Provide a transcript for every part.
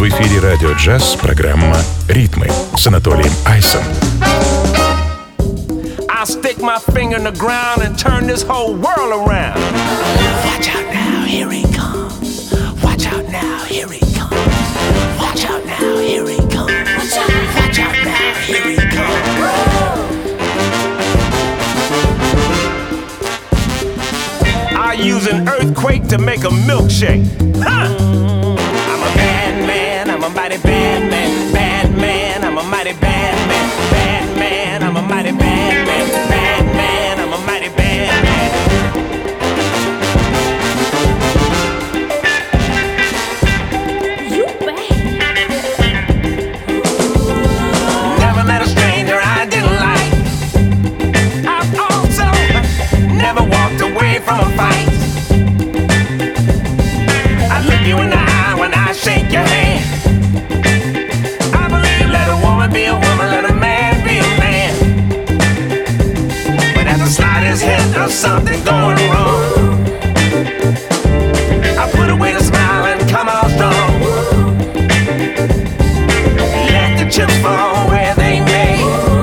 В эфире «Радио Джаз» программа «Ритмы» с Анатолием Айсом. I'll stick my finger in the ground and turn this whole world around. Watch out now, here he comes. Watch out now, here he comes. Watch out now, here he comes. Watch out now, here he comes. I use an earthquake to make a milkshake. Huh? I'm a bad man, I'm a mighty bad man. Bad man, I'm a mighty bad man. Bad man, I'm a mighty bad man. Bad man, I'm a mighty bad man. You bad. Never met a stranger I didn't like. I've also never walked away from a fight. I look you in the eye when I shake your hand. I believe let a woman be a woman, let a man be a man. But at the slightest hint of something going wrong, I put away the smile and come out strong. Let the chips fall where they may.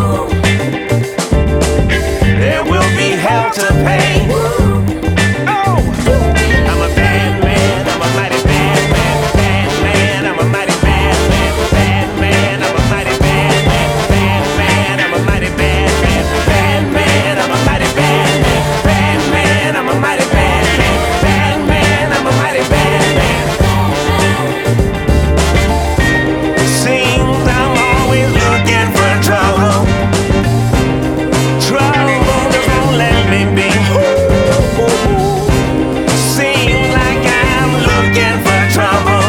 There will be hell to pay. Oh, I'm a bad man, I'm a mighty bad man. Bad man, I'm a mighty bad man. Bad man, I'm a mighty bad man. Bad man, I'm a mighty bad man. Bad man, I'm a mighty bad man. Bad man, I'm a mighty bad man. Bad man, I'm a mighty bad man. Seems I'm always looking for trouble. Trouble just won't let me be. Seems like I'm looking for trouble.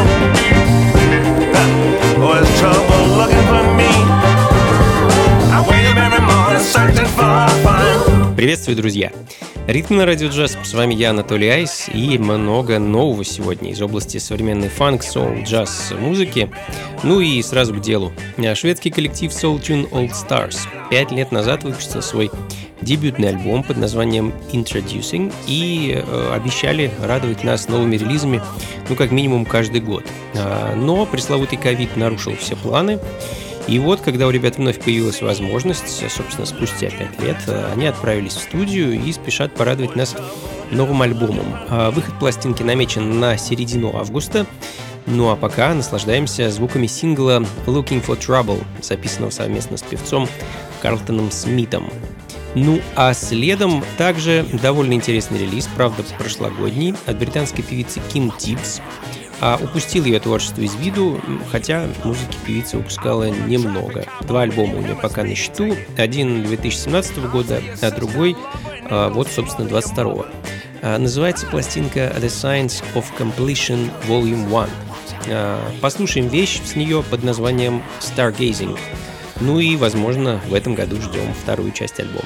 Or is trouble looking for me? I wake up every morning searching for fun. Приветствую, друзья! Ритм на радио джаз. С вами я, Анатолий Айс, и много нового сегодня из области современной фанк, соул, джаз музыки. Ну и сразу к делу. Шведский коллектив Soul Tune Old Stars 5 лет назад выпустил свой дебютный альбом под названием Introducing и обещали радовать нас новыми релизами, ну как минимум каждый год. Но пресловутый ковид нарушил все планы. И вот, когда у ребят вновь появилась возможность, собственно, спустя 5 лет, они отправились в студию и спешат порадовать нас новым альбомом. Выход пластинки намечен на середину августа. Ну а пока наслаждаемся звуками сингла Looking for Trouble, записанного совместно с певцом Карлтоном Смитом. Ну а следом также довольно интересный релиз, правда прошлогодний, от британской певицы Ким Тиббс. Упустил ее творчество из виду, хотя музыки певица выпускала немного. 2 альбома у нее пока на счету, один 2017 года, а другой, вот, собственно, 22-го. Называется пластинка The Science of Completion Volume 1. Послушаем вещь с нее под названием Stargazing. Ну и, возможно, в этом году ждем вторую часть альбома.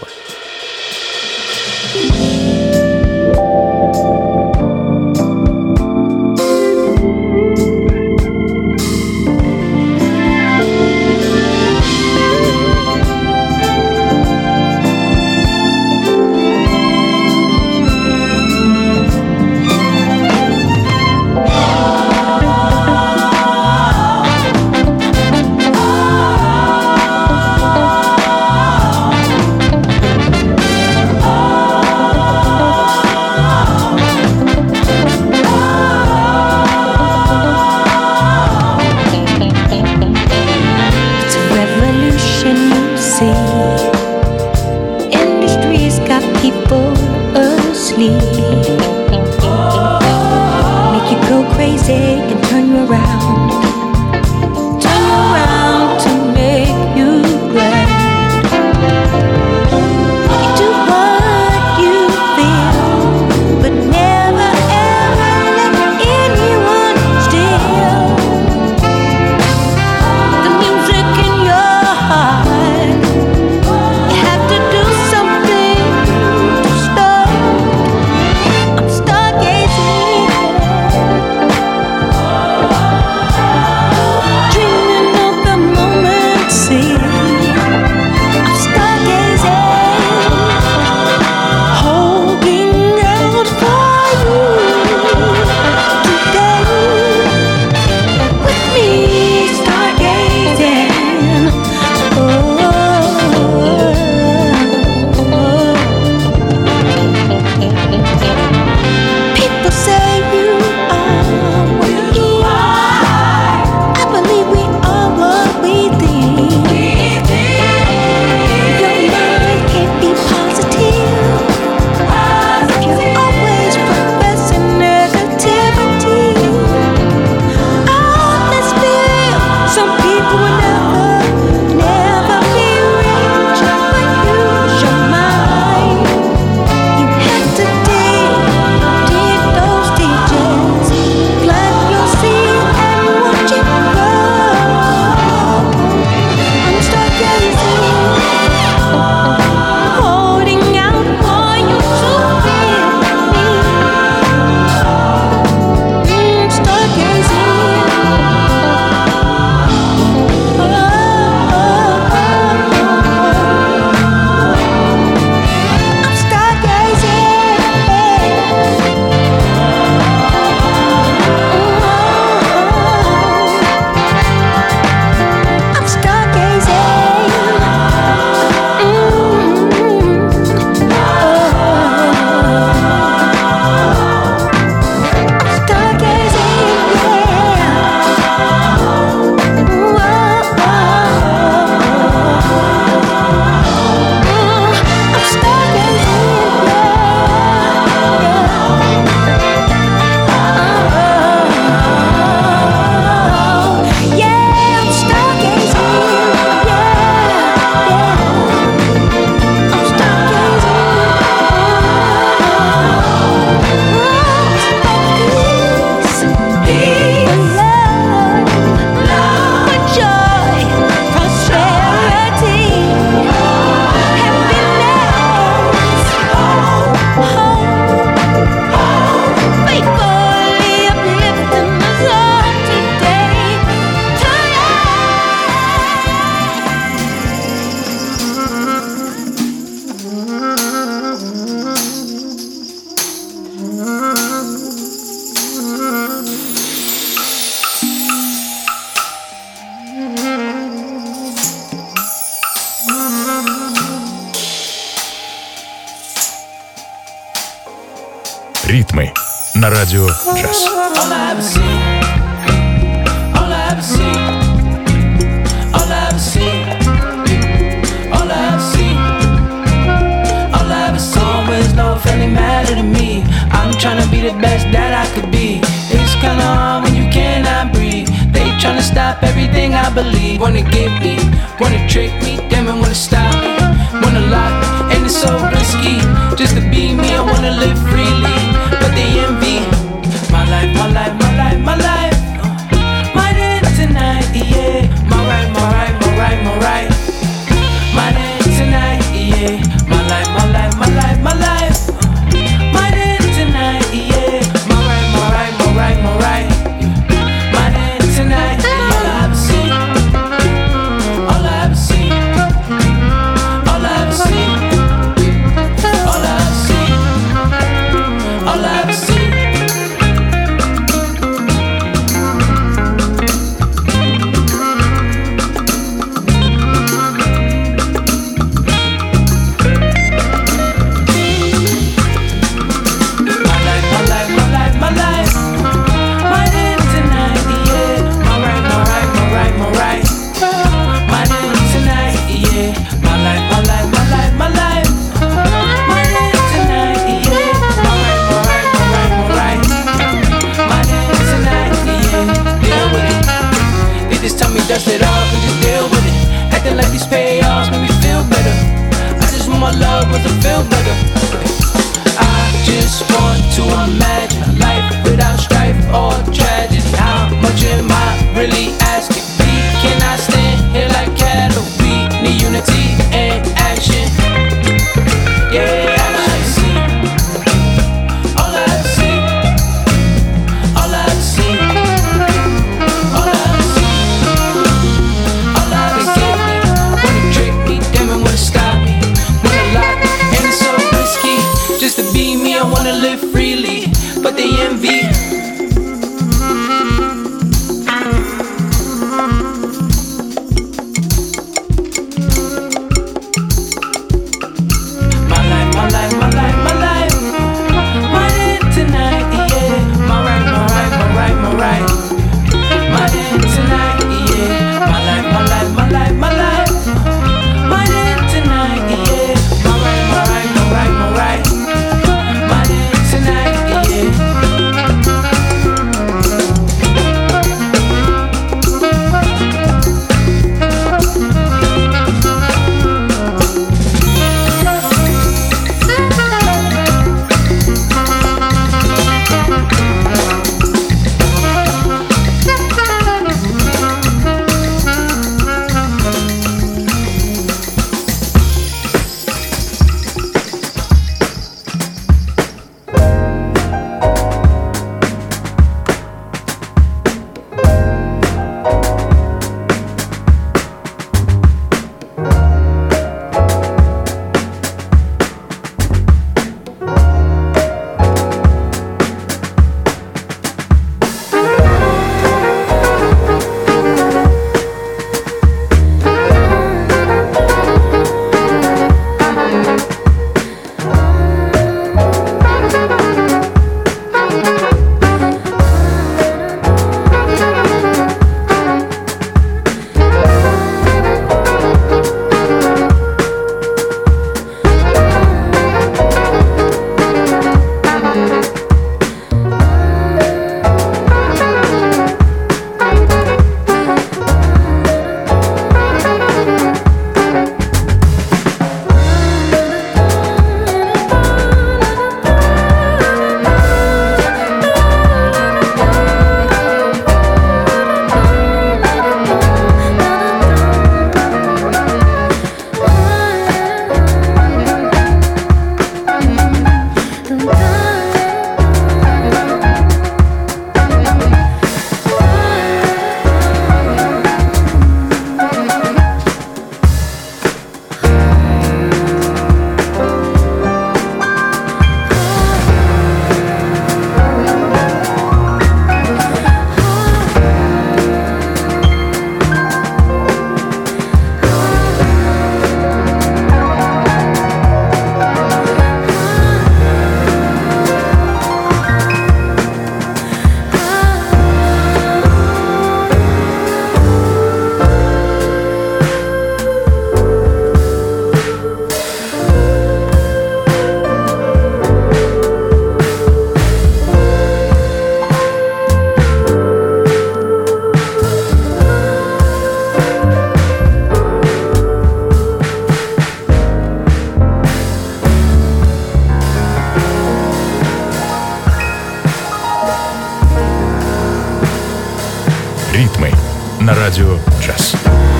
на радио «Джаз». All I ever see, all I ever see, all I ever see, all I ever see, all I ever saw was no family matter to me. I'm tryna be the best that I could be. It's kinda hard when you cannot breathe. They tryna stop everything I believe. Wanna get me, wanna trick me, damn it, wanna stop me, wanna lock me, and it's so risky. Just to be me, I wanna live freely, but they envy my life, my life, my life, my life. My day tonight, yeah. My right, my right, my right, my right. My day tonight, yeah. My life, my life, my life, my life. My day tonight, yeah. My right, my right, my right, my right. My day tonight, yeah. All I ever see, all I ever see, all I ever see, all I ever see, all I ever see. Dust it off and just deal with it. Acting like these payoffs make me feel better. I just want my love to feel better. I just want to imagine a life without strife or tragedy. How much am I really asking? We cannot stand here like cattle. We need unity and action. Yeah, I see. All I see. All I see. All I see. All I get me, wanna trick me, damn it, wanna stop me, wanna lock me, and it's so risky. Just to be me, I wanna live freely, but they envy Ритмы на радио «Джаз».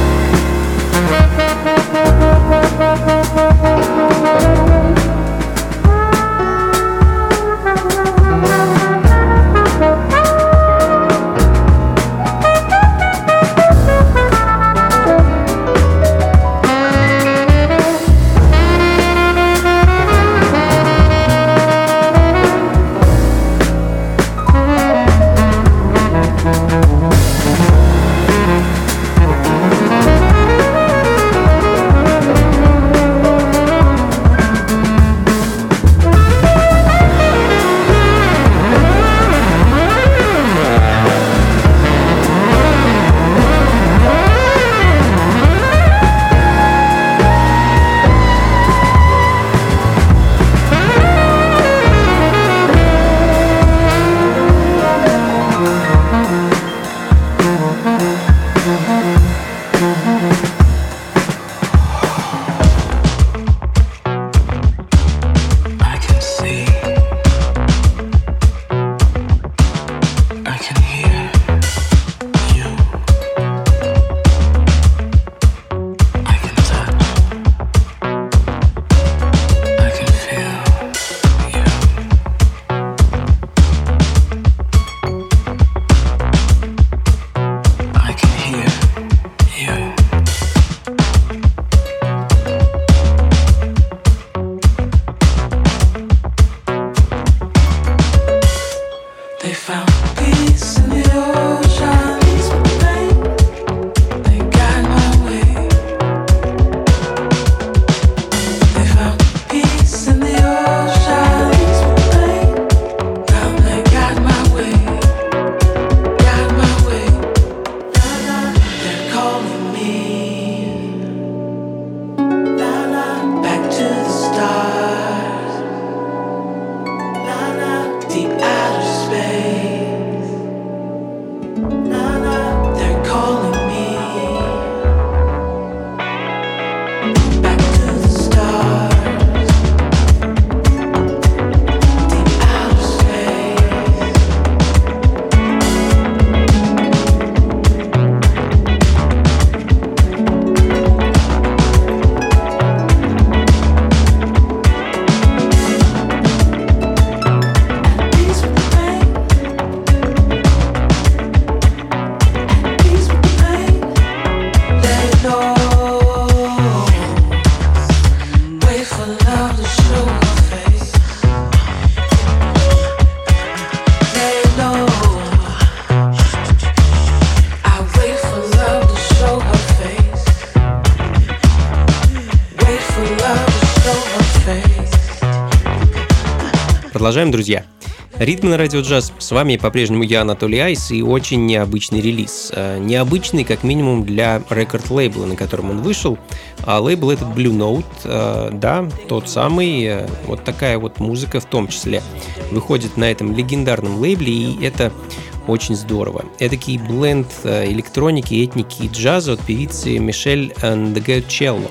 Продолжаем, друзья. Ритмы на радио «Джаз». С вами по-прежнему я, Анатолий Айс, и очень необычный релиз. Необычный, как минимум, для рекорд-лейбла, на котором он вышел. А лейбл этот Blue Note, да, тот самый. Вот такая вот музыка в том числе выходит на этом легендарном лейбле, и это очень здорово. Эдакий бленд электроники, этники и джаза от певицы Мишель Ндегочелло.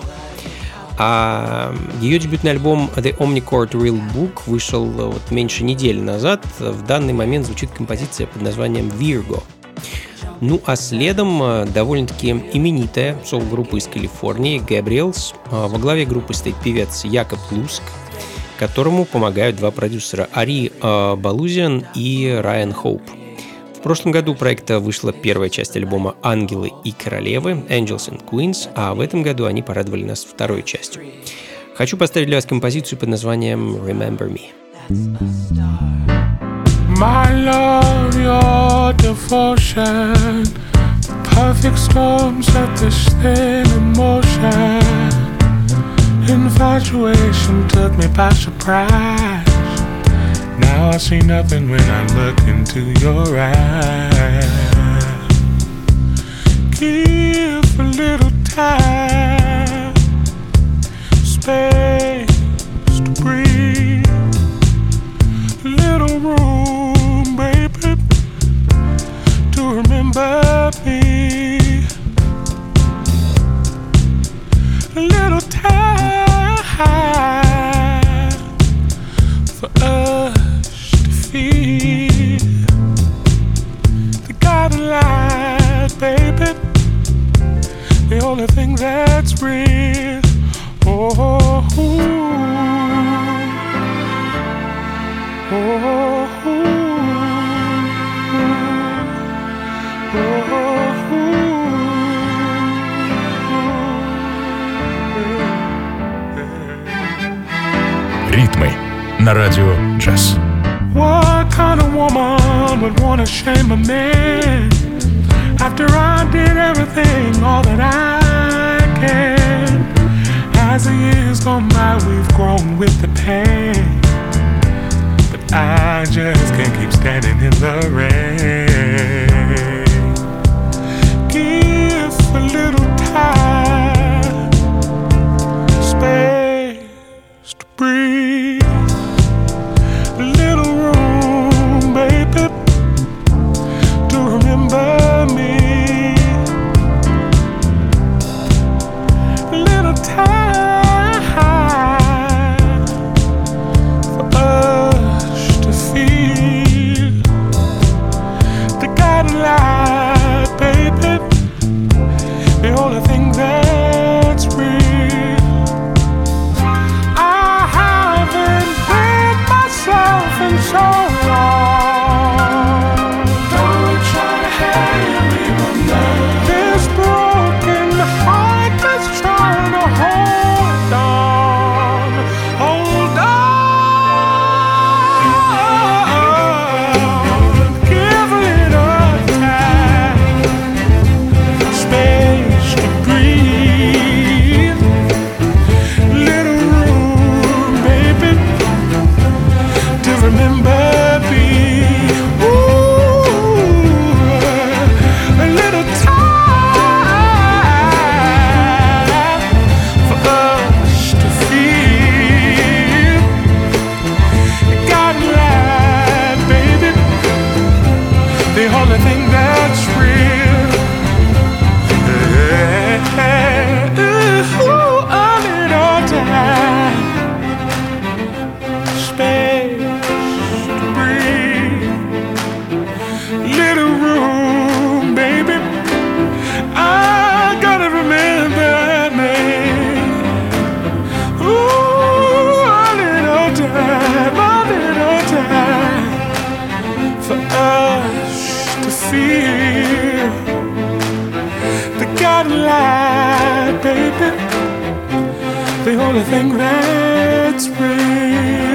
А ее дебютный альбом The Omnichord Real Book вышел вот меньше недели назад. В данный момент звучит композиция под названием Virgo. Ну а следом довольно-таки именитая сол-группа из Калифорнии Gabriels. Во главе группы стоит певец Якоб Луск, которому помогают два продюсера Ари Балузиан и Райан Хоуп. В прошлом году у проекта вышла первая часть альбома «Ангелы и королевы» Angels and Queens, а в этом году они порадовали нас второй частью. Хочу поставить для вас композицию под названием Remember Me. My love, your devotion, perfect storm set this thing in motion. Infatuation took me by surprise. Now I see nothing when I look into your eyes. Give a little time, space to breathe, a little room, baby, to remember me. A little time for us to feel the guiding light only thing that's real. Oh, ooh, oh, Ритмы на радио «Джаз». What kind of woman would want to shame a man after I did everything, all that I can? As the years gone by, we've grown with the pain, but I just can't keep standing in the rain. Give a little time, space to breathe. A little room, baby, to remember me. A little time for us to feel the guiding light, baby, the only thing that's real. And so long. Don't try to hang me from this broken heart that's trying to hold on. Hold on. Give it a time, space to breathe. Little room, baby, to remember me. Ooh, a little time for us to feel God light, baby, the only thing that's real. Ooh, a little time, space. Little room, baby, I gotta remember me. Ooh, a little time for us to feel the God light, baby, the only thing that's real.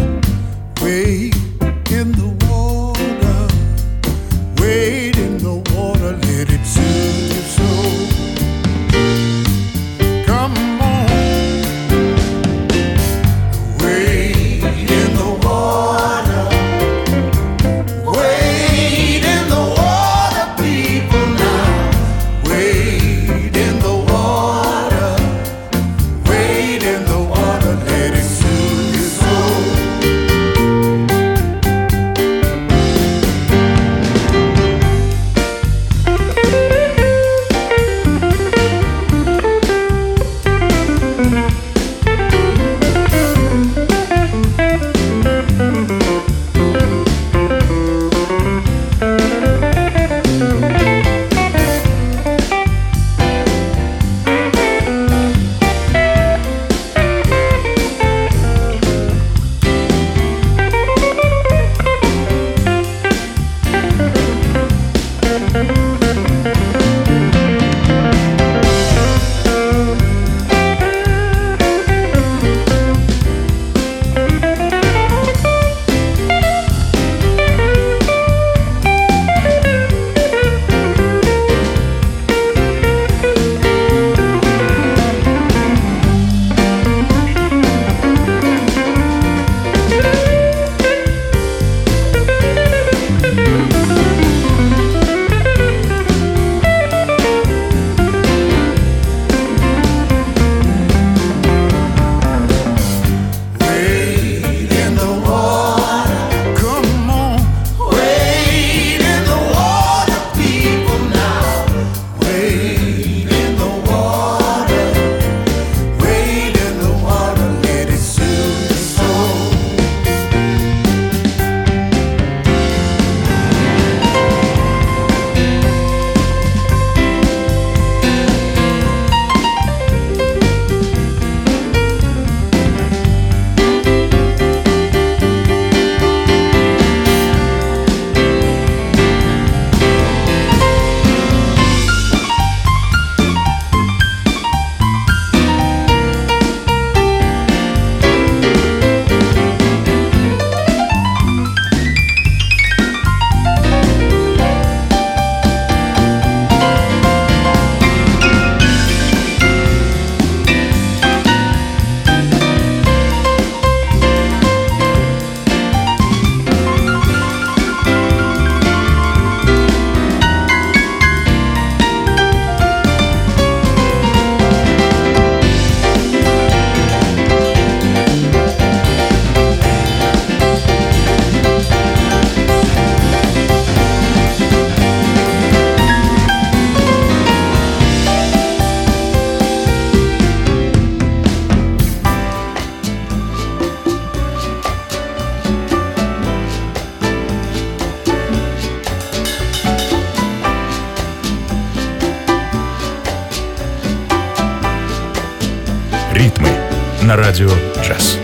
Wade in the water, wade in the water. на радио «Джаз».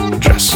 джаз.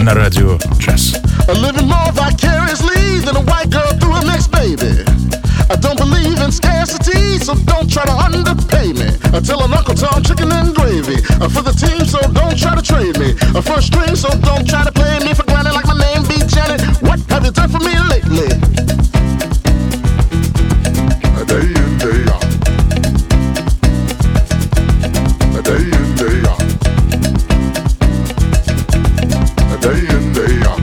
на радио джаз. Living more vicariously than a white girl through her next baby. I don't believe in scarcity, so don't try to underpay me. I tell an Uncle Tom chicken and gravy for the team, so don't try to trade me. First string, so don't try to play me for granted like my name be Janet. What have you done for me lately? Day in, day out. Day in, day out. Day in, day out.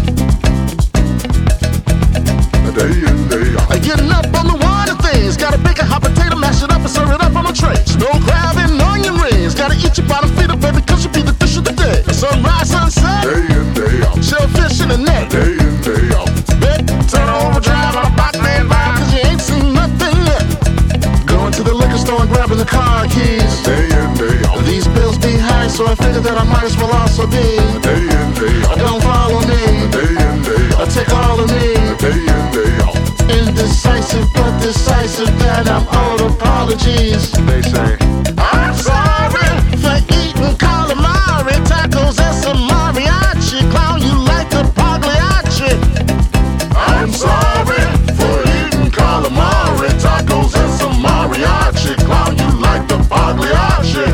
Day in, day out. Getting up on the water things. Gotta bake a hot potato, mash it up and serve it up on a tray. Snow crab and onion rings. Gotta eat your bottom feeder, baby, cause you be the dish of the day. Sunrise, sunset. Day in, day out. Shellfish in the net. Day in, day out. Bet, turn overdrive on a box man vibe, cause you ain't seen nothing yet. Going to the liquor store and grabbing the car keys. Day in, day out. These bills be high, so I figured that I might as well also be. Day in, day out. Don't follow me. Day in, day out. Take all of me. Day in, day out. Indecisive but decisive, that I'm all apologies. They say I'm sorry for eating calamari, tacos and some mariachi. Clown you like a Pagliacci. I'm sorry for eating calamari, tacos and some mariachi. Clown you like the Pagliacci.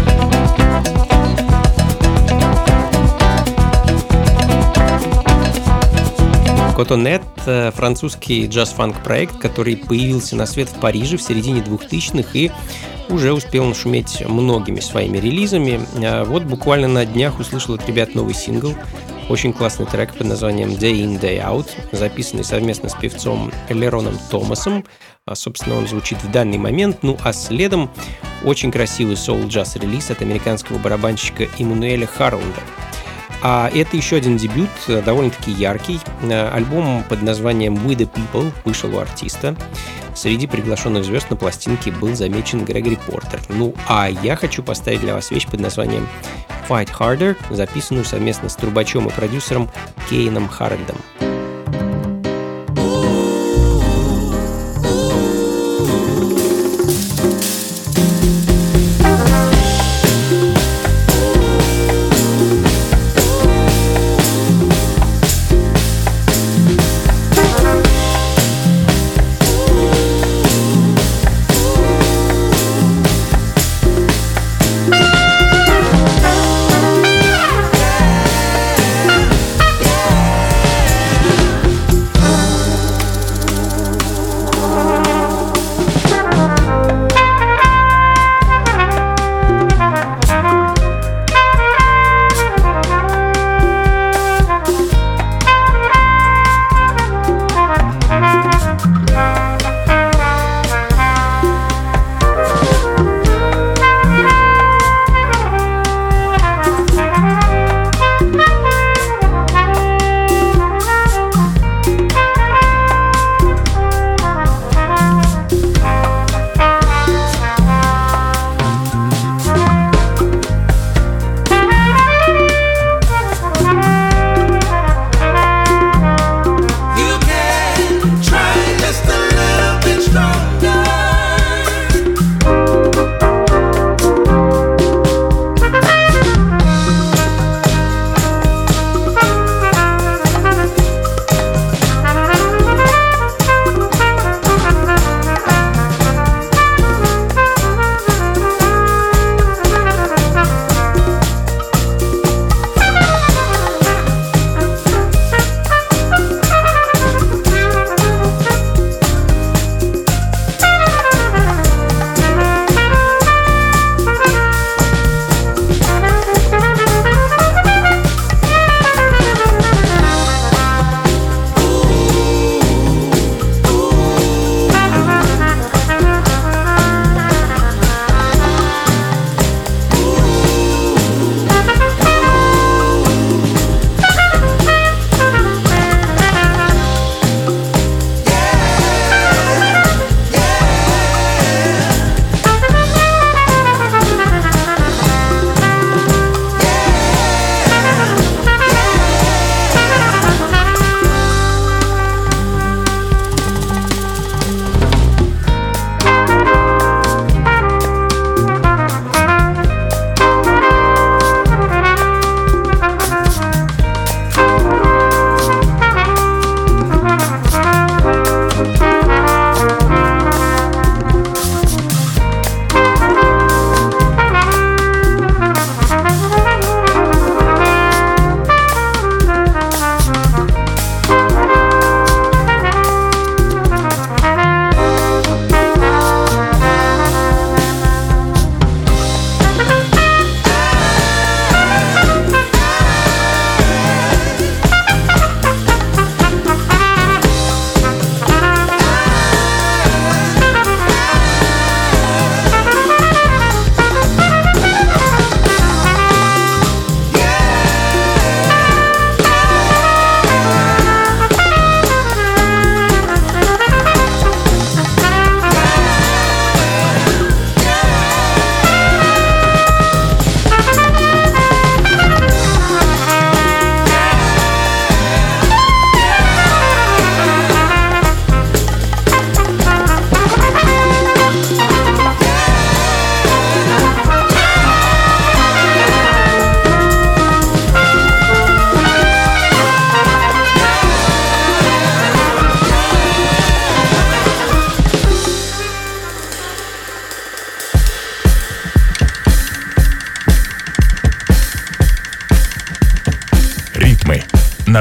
Cotonnet — французский джаз-фанк-проект, который появился на свет в Париже в середине 2000-х и уже успел нашуметь многими своими релизами. Вот буквально на днях услышал от ребят новый сингл. Очень классный трек под названием Day In, Day Out, записанный совместно с певцом Лероном Томасом. Собственно, он звучит в данный момент. Ну а следом очень красивый соул-джаз-релиз от американского барабанщика Эммануэля Харланда. А это еще один дебют, довольно-таки яркий. Альбом под названием We The People вышел у артиста. Среди приглашенных звезд на пластинке был замечен Грегори Портер. Ну, а я хочу поставить для вас вещь под названием Fight Harder, записанную совместно с трубачом и продюсером Кейном Харальдом.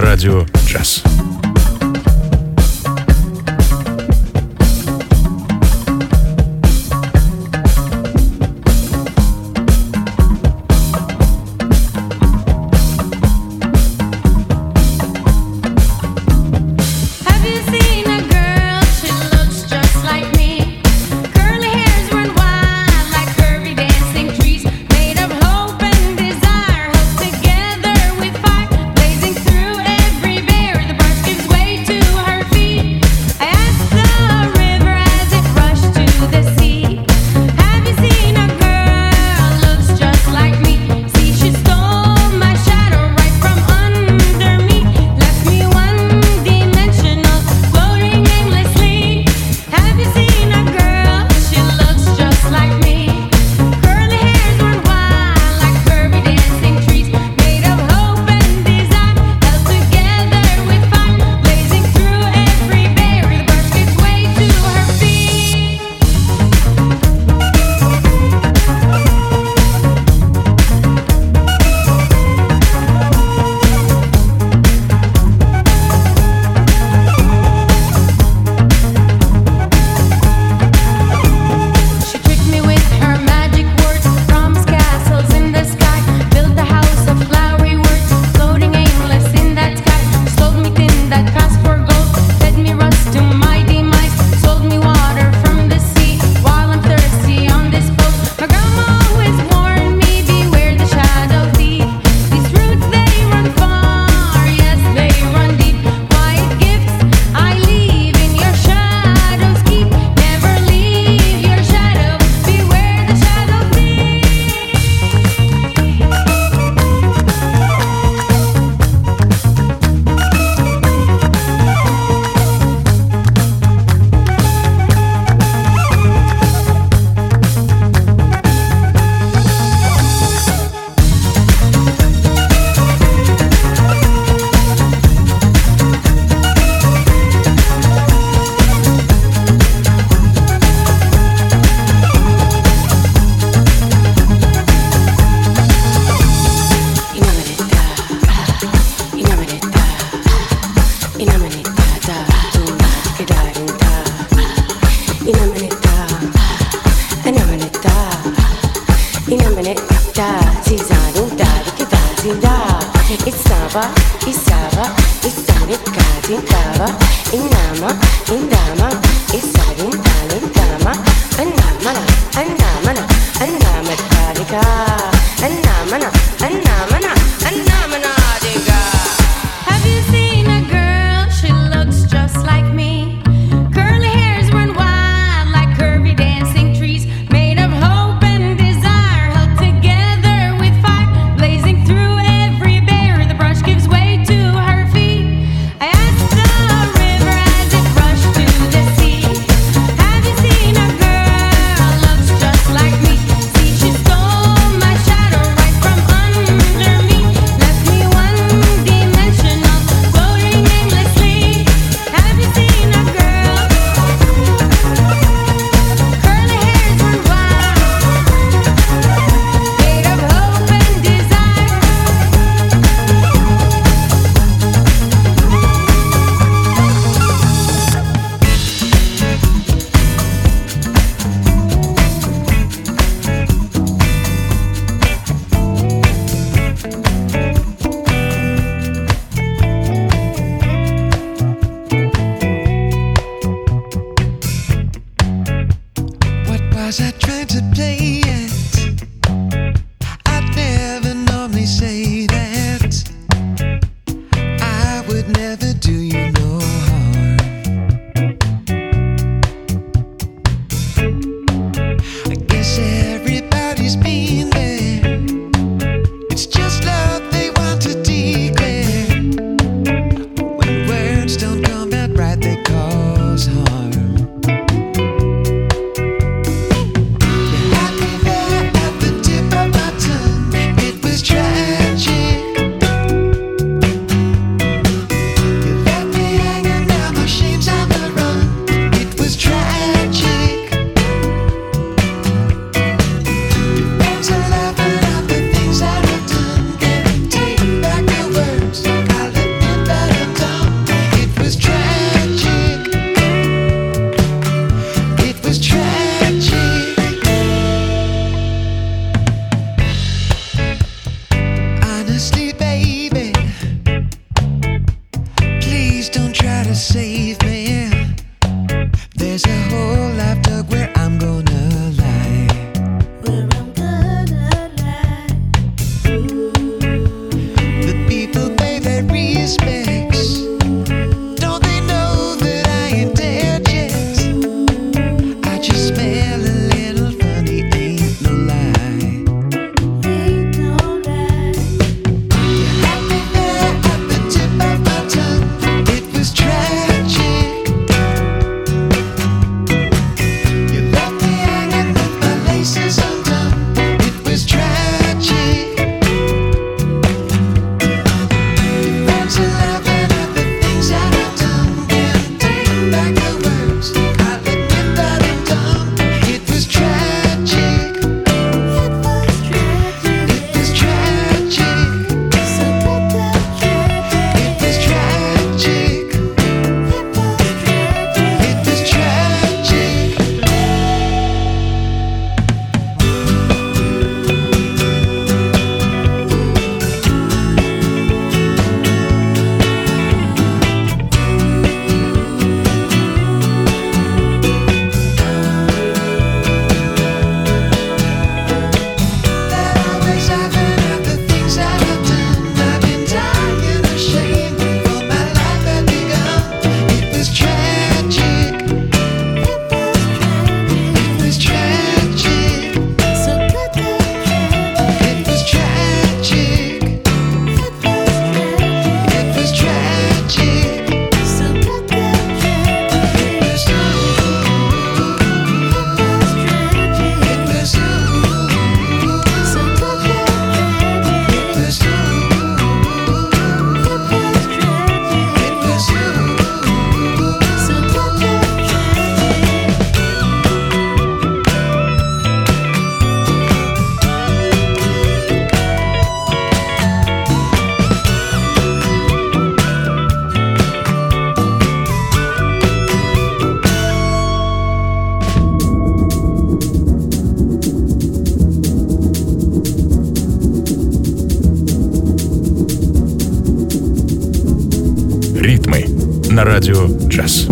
на радио «Джаз». My на радио «Джаз».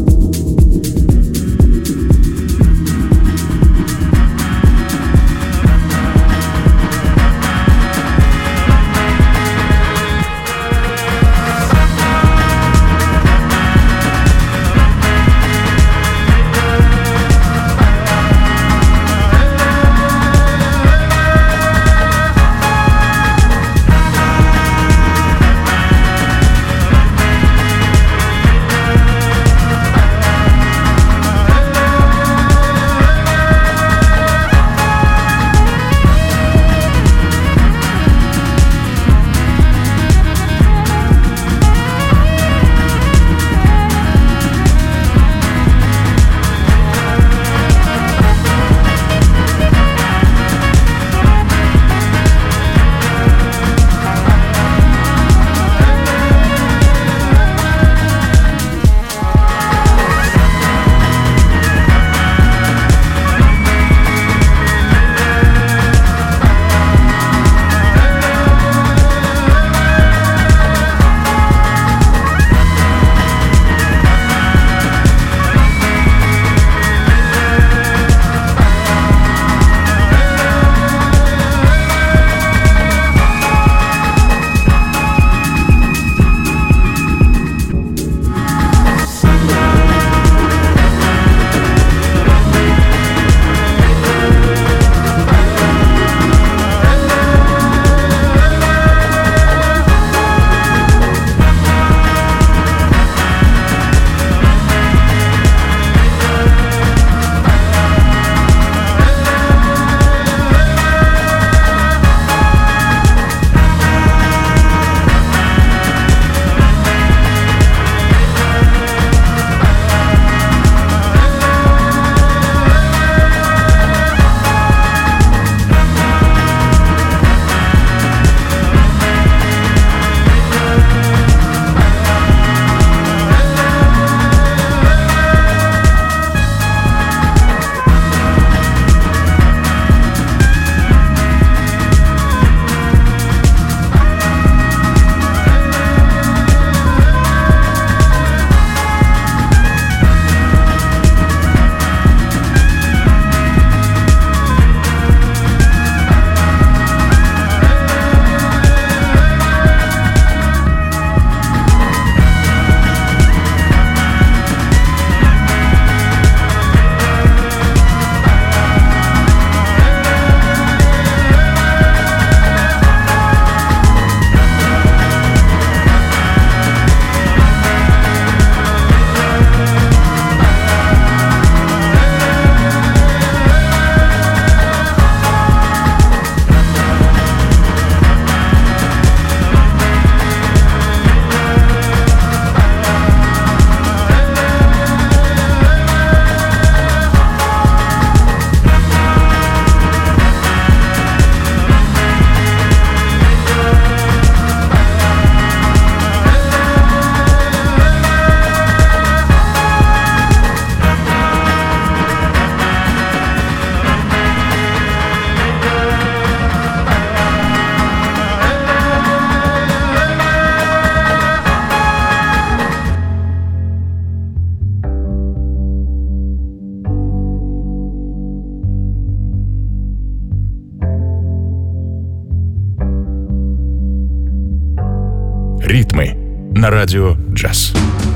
Ритмы на радио «Джаз».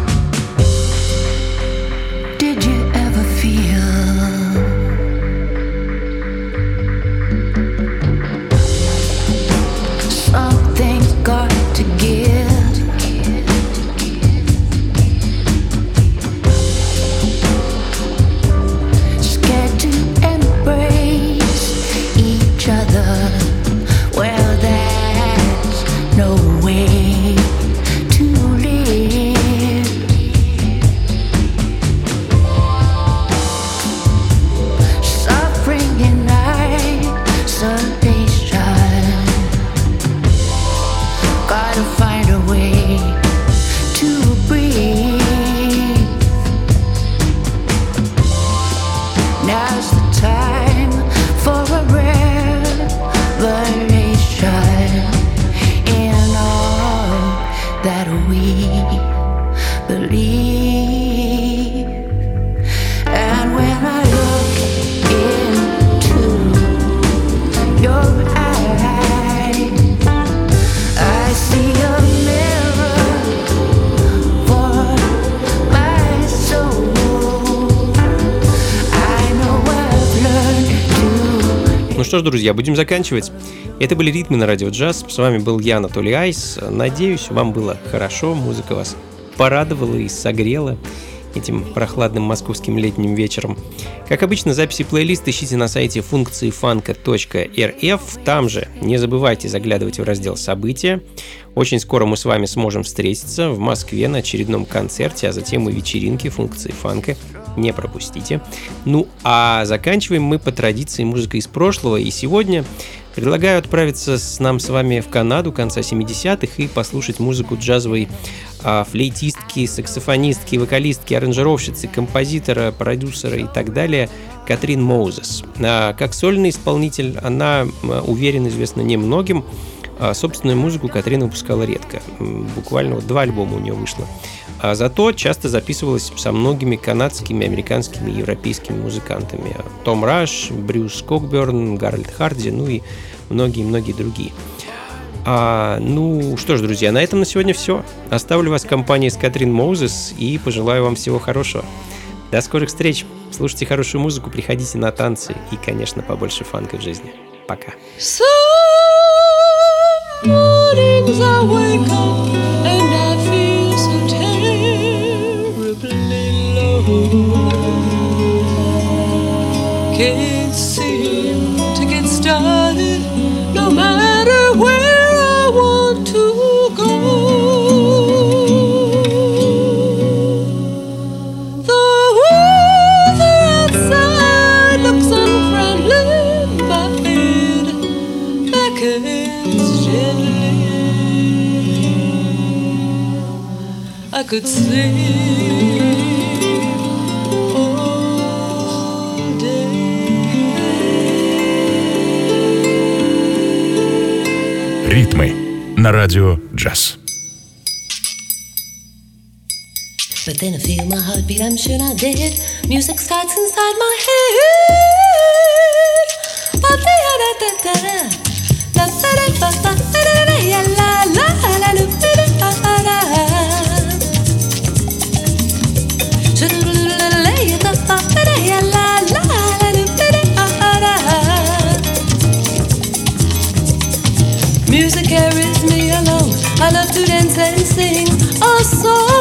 Did you ever feel something's got to give? Scared to embrace each other. Well, that's no way to live. что ж, друзья, будем заканчивать. Это были «Ритмы на радио джаз». С вами был я, Анатолий Айс. Надеюсь, вам было хорошо, музыка вас порадовала и согрела этим прохладным московским летним вечером. Как обычно, записи плейлист ищите на сайте функции фанка.рф. Там же не забывайте заглядывать в раздел «События». Очень скоро мы с вами сможем встретиться в Москве на очередном концерте, а затем и вечеринке функции фанка. Не пропустите. Ну, а заканчиваем мы по традиции музыкой из прошлого. И сегодня предлагаю отправиться с вами в Канаду конца 70-х и послушать музыку джазовой флейтистки, саксофонистки, вокалистки, аранжировщицы, композитора, продюсера и так далее Катрин Моузес. Как сольный исполнитель она, уверен, известна немногим. Собственную музыку Катрин выпускала редко. Буквально 2 альбома у нее вышло. А зато часто записывалась со многими канадскими, американскими и европейскими музыкантами. Том Раш, Брюс Кокберн, Гарольд Харди, ну и многие-многие другие. Ну что ж, друзья, на этом на сегодня все. Оставлю вас в компании с Катрин Моузес и пожелаю вам всего хорошего. До скорых встреч. Слушайте хорошую музыку, приходите на танцы и, конечно, побольше фанка в жизни. Пока. Mornings I wake up and I feel so terribly low. Can't seem to get started no matter where I want to go. The weather outside looks unfriendly, my head beckons gently. I could sleep all day. Ритмы на радио джаз. But then I feel my heartbeat, I'm sure not dead. Music starts inside my head. Music carries me along. I love to dance and sing a song.